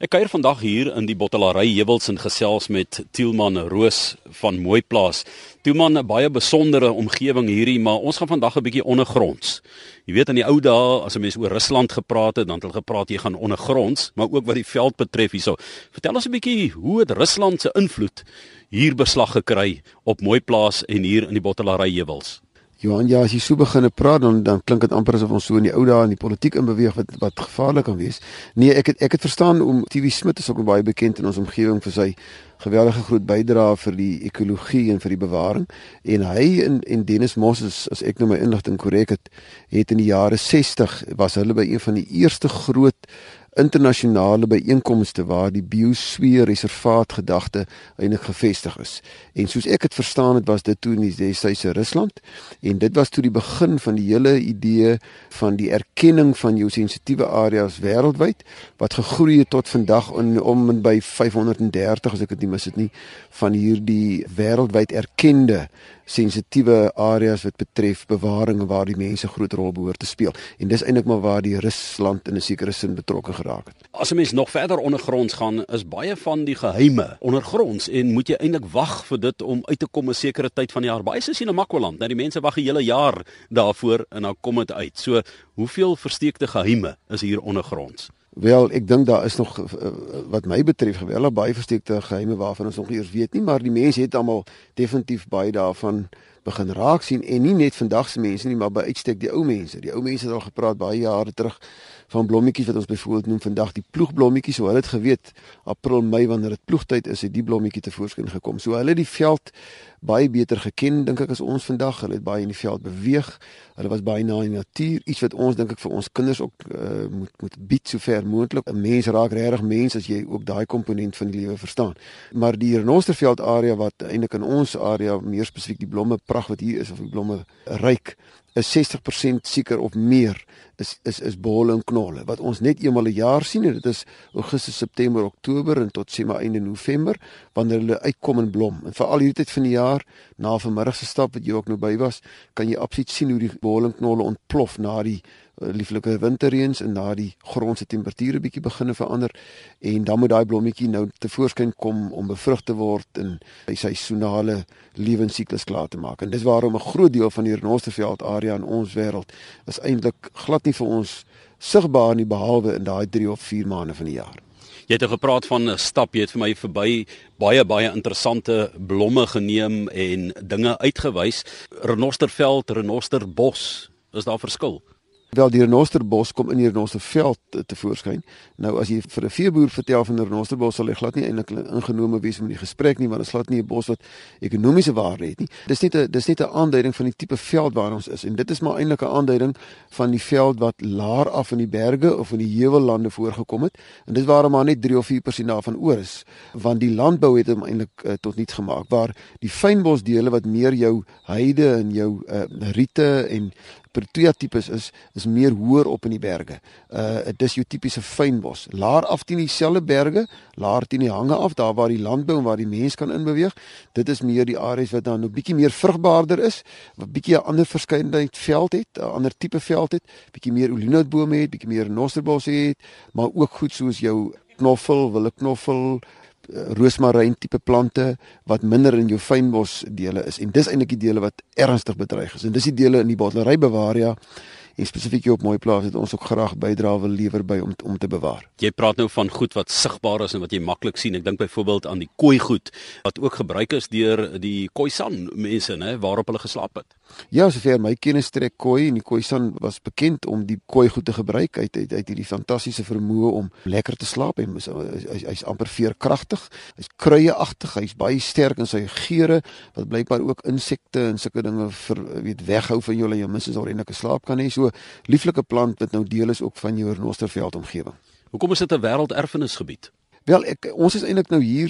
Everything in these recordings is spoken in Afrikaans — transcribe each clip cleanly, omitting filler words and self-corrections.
Ek kuier vandag hier in die Bottelary Heuwels en gesels met Tielman Roos van Mooiplaas. Tielman, 'n baie besondere omgewing hierdie, maar ons gaan vandag 'n bietjie ondergronds. Jy weet, in die ou dae, as 'n mens oor Rusland gepraat het, dan het hulle gepraat jy gaan ondergronds, maar ook wat die veld betref hierso. Vertel ons 'n bietjie, hoe het Rusland se invloed hier beslag gekry op Mooiplaas en hier in die Bottelary Heuwels? Johan, ja, as jy so begin praat, dan klink dit amper asof ons so in die ou dae in die politiek inbeweeg wat gevaarlik kan wees. Nee, ek het verstaan om TV Smit is ook baie bekend in ons omgewing vir sy geweldige groot bydrae vir die ekologie en vir die bewaring. En hy en Dennis Moss, as ek nou my inligting korrek het in die jare 60 was hulle by een van die eerste groot internasionale byeenkomste waar die biosfeerreservaat gedagte eintlik gevestig is. En soos ek het verstaan het, was dit toe in die destydse Rusland, en dit was toe die begin van die hele idee van die erkenning van jou sensitiewe areas wêreldwyd, wat gegroei het tot vandag om en by 530, as ek dit nie mis het nie, van hierdie wêreldwyd erkende sensitiewe areas wat betref bewaring waar die mense groot rol behoort te speel. En dis eintlik maar waar die Rusland in 'n sekere sin betrokke geraak het. As 'n mens nog verder ondergronds gaan, is baie van die geheime ondergronds en moet jy eintlik wag vir dit om uit te kom 'n sekere tyd van die jaar. Baie soos in Namakwaland, nou die mense wag 'n hele jaar daarvoor en dan kom dit uit. So, hoeveel versteekte geheime is hier ondergronds? Wel, ek dink daar is nog, wat my betref, geweldig baie versteekte geheime waarvan ons nog eers weet nie, maar die mense het almal definitief baie daarvan begin raak sien, en nie net vandag se mense nie, maar by uitstek die ou mense. Die ou mense het al gepraat baie jare terug van blommetjies wat ons byvoorbeeld noem vandag die ploegblommetjies. So hulle het geweet, April, Mei, wanneer dit ploegtyd is, het die blommetjie tevoorskyn gekom. So hulle het die veld baie beter geken, dink ek, as ons vandag. Hulle het baie in die veld beweeg. Hulle was baie na die natuur, iets wat ons dink ek vir ons kinders ook moet bied so ver moontlik. 'n Mens raak regtig mens as jy ook daai komponent van die lewe verstaan. Maar die renosterveld area wat eintlik in ons area, meer spesifiek die blomme pragt wat hier is, of die blomme ryk, is 60% seker of meer is bolle en knolle, wat ons net eenmal 'n jaar sien, en dit is Augustus, September, Oktober en tot sê maar einde November, wanneer hulle uitkom in blom. En veral hierdie tyd van die jaar, na vanmiddag se stap wat jy ook nou by was, kan jy absoluut sien hoe die bolle en knolle ontplof na die lieflike winterreëns en na die grond se temperature bietjie begin verander, en dan moet daai blommetjie nou tevoorskyn kom om bevrug te word en sy seisonale lewensiklus klaar te maak. En dis waarom 'n groot deel van die renosterveld area in ons wêreld is eintlik glad nie vir ons sigbaar nie, behalwe in daai 3 of 4 maande van die jaar. Jy het gepraat van 'n stap, jy het vir my verby baie interessante blomme geneem en dinge uitgewys. Renosterveld, renosterbos, is daar verskil? Wel, die renosterbos kom in die renosterveld tevoorskyn. Nou, as jy vir 'n veeboer vertel van 'n renosterbos, sal hy glad nie eintlik ingenome wees met die gesprek nie, want dit is glad nie 'n bos wat ekonomiese waarde het nie. Dis net 'n aanduiding van die tipe veld waar ons is, en dit is maar eintlik 'n aanduiding van die veld wat laer af in die berge of in die heuvellande voorgekom het, en dis waarom maar net 3 of 4% daarvan oor is, want die landbou het hom eintlik tot niets gemaak, waar die fynbosdele wat meer jou heide en jou riete en Protea tipes is meer hoër op in die berge. Dit is jou tipiese fynbos. Laer af teen dieselfde berge, laer teen die hange af, daar waar die landbou en waar die mens kan inbeweeg. Dit is meer die areas wat dan 'n bietjie meer vrugbaarder is, wat bietjie 'n ander verskeidenheid veld het, 'n ander tipe veld het, bietjie meer olienoutbome het, bietjie meer renosterbosse het, maar ook goed soos jou knoffel, willeknoffel, roosmaryn tipe plante wat minder in jou fynbos dele is, en dis eintlik die dele wat ernstig bedreig is, en dis die dele in die Bottelary bewaria en spesifiek hier op Mooiplaas het ons ook graag bydra wil lewer by om te bewaar. Jy praat nou van goed wat sigbaar is en wat jy maklik sien. Ek dink byvoorbeeld aan die kooigoed wat ook gebruik is deur die Khoisan mense, né, waarop hulle geslaap het. Ja, sover my kennis strek Khoi, en die Khoisan was bekend om die kooigoed te gebruik. Hy het hierdie fantastiese vermoë om lekker te slaap. Hy's amper veerkragtig, hy's kruieagtig, hy's baie sterk in sy geure, wat blykbaar ook insekte en sulke dinge weghou van jou, en jou minstens al eintlik 'n slaap kan hê. So lieflike plant wat nou deel is ook van jou renosterveld omgewing. Hoekom is dit 'n wêrelderfenisgebied? Wel, ons is eintlik nou hier,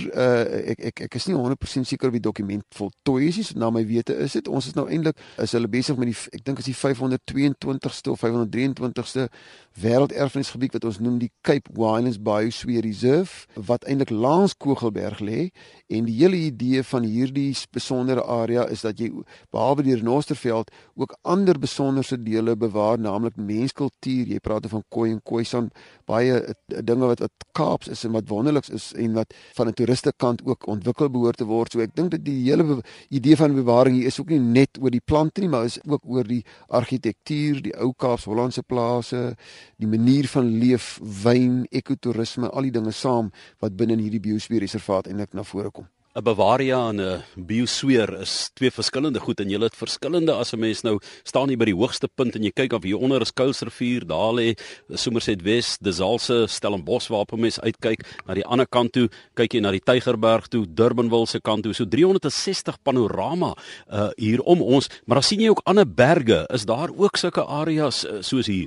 ek is nie 100% seker of die dokument voltooi is, na my wete is dit. Ons is nou eintlik, is hulle besig met ek dink is die 522ste of 523ste wêrelderfenisgebied wat ons noem die Cape Winelands Biosphere Reserve, wat eintlik langs Kogelberg lê. En die hele idee van hierdie besondere area is dat jy, behalwe die renosterveld, ook ander besonderse dele bewaar, naamlik menskultuur. Jy praat van Khoi en Khoisan, baie dinge wat Kaaps is en wat wonderliks is en wat van 'n toeristekant ook ontwikkel behoort te word. So ek dink dat die hele idee van bewaring hier is ook nie net oor die plante nie, maar is ook oor die argitektuur, die ou Kaaps-Hollandse plase, die manier van leef, wyn, ekotourisme, al die dinge saam wat binne in hierdie biosfeerreservaat eintlik na vore kom. 'n Bavaria en 'n biosfeer is twee verskillende goed en julle het verskillende. As 'n mens nou staan hier by die hoogste punt en jy kyk af hier onder is Kuilsrivier, daar lê Somerset West, De Zalse, Stellenbosch waarop 'n mens uitkyk. Na die ander kant toe kyk jy na die Tygerberg toe, Durbanville se kant toe. So 360 panorama hier om ons, maar dan sien jy ook ander berge. Is daar ook sulke areas soos hier?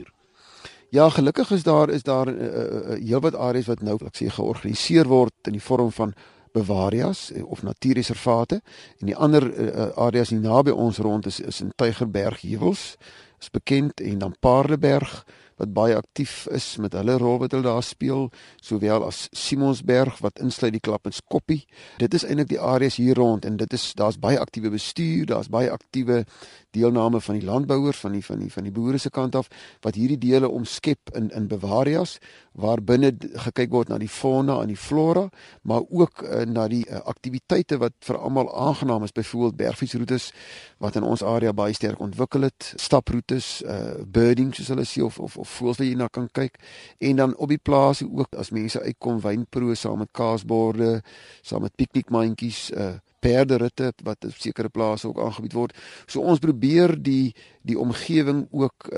Ja, gelukkig is daar heelwat areas wat nou, ek sê, georganiseer word in die vorm van Bavarias of natuurreservate, en die ander areas hier naby ons rond is in Tygerberg heuwels, is bekend, en dan Paardeberg wat baie aktief is met hulle rol wat hulle daar speel, sowel as Simonsberg wat insluit die Klappenskoppie. Dit is eintlik die areas hier rond en daar's baie aktiewe bestuur, daar's baie aktiewe deelname van die landbouers van die boere se kant af wat hierdie dele omskep in Bavarias waar binne gekyk word na die fauna en die flora, maar ook na die aktiwiteite wat vir almal aangenaam is, byvoorbeeld bergfietsroetes wat in ons area baie sterk ontwikkel het, staproetes, birding soos hulle sê of voëls wat jy na kan kyk, en dan op die plase ook as mense uitkom wynproe saam met kaasborde, saam met piknikmandjies, perderitte wat op sekere plase ook aangebied word. So ons probeer die omgewing ook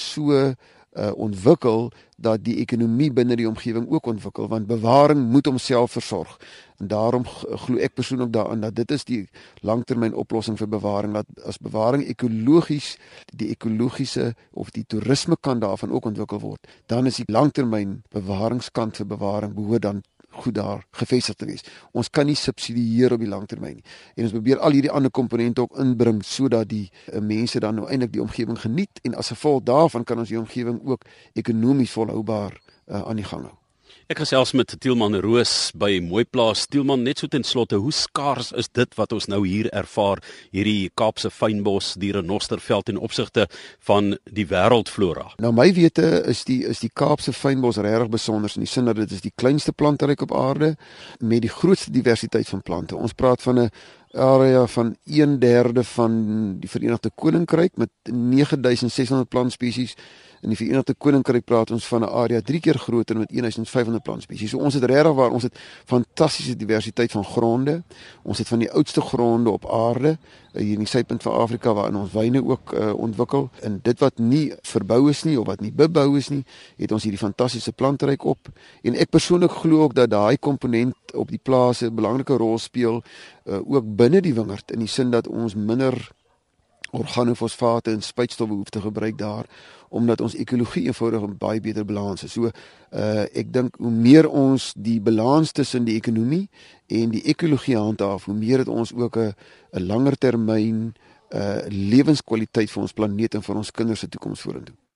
so ontwikkel dat die ekonomie binne die omgewing ook ontwikkel, want bewaring moet homself versorg. En daarom glo ek persoonlik daaraan dat dit is die langtermyn oplossing vir bewaring, dat as bewaring ekologies, die ekologiese of die toerisme kant daarvan ook ontwikkel word, dan is die langtermyn bewaringskant vir bewaring behoort dan goed daar gevestig te wees. Ons kan nie subsidieer op die langtermyn nie. En ons probeer al hierdie ander komponente ook inbring sodat die mense dan nou eintlik die omgewing geniet en as gevolg daarvan kan ons die omgewing ook ekonomies volhoubaar aan die gang hou. Ek gesels met Tielman Roos by Mooiplaas. Tielman, net so ten slotte, hoe skaars is dit wat ons nou hier ervaar, hierdie Kaapse fynbos, die renosterveld ten opsigte van die wêreldflora? Nou my wete is die Kaapse fynbos regtig besonder in die sin dat dit is die kleinste planteryk op aarde met die grootste diversiteit van plante. Ons praat van 'n area van 1/3 van die Verenigde Koninkryk met 9600 plantspesies. In die Verenigde Koninkryk praat ons van 'n area 3 keer groter met 1500 plantspesies. So ons het regtig waar ons het fantastiese diversiteit van gronde. Ons het van die oudste gronde op aarde hier in die suidpunt van Afrika waarin ons wyne ook ontwikkel. En dit wat nie verbou is nie of wat nie bebou is nie, het ons hierdie fantastiese plantryk op. En ek persoonlik glo ook dat daai komponent op die plase 'n belangrike rol speel ook binne die wingerd in die sin dat ons minder organofosfate en spuitstowwe hoef te gebruik daar, omdat ons ekologie eenvoudig 'n baie beter balans is. So ek dink hoe meer ons die balans tussen die ekonomie en die ekologie handhaaf, hoe meer het ons ook 'n langer termyn lewenskwaliteit vir ons planeet en vir ons kinders se toekoms vorentoe.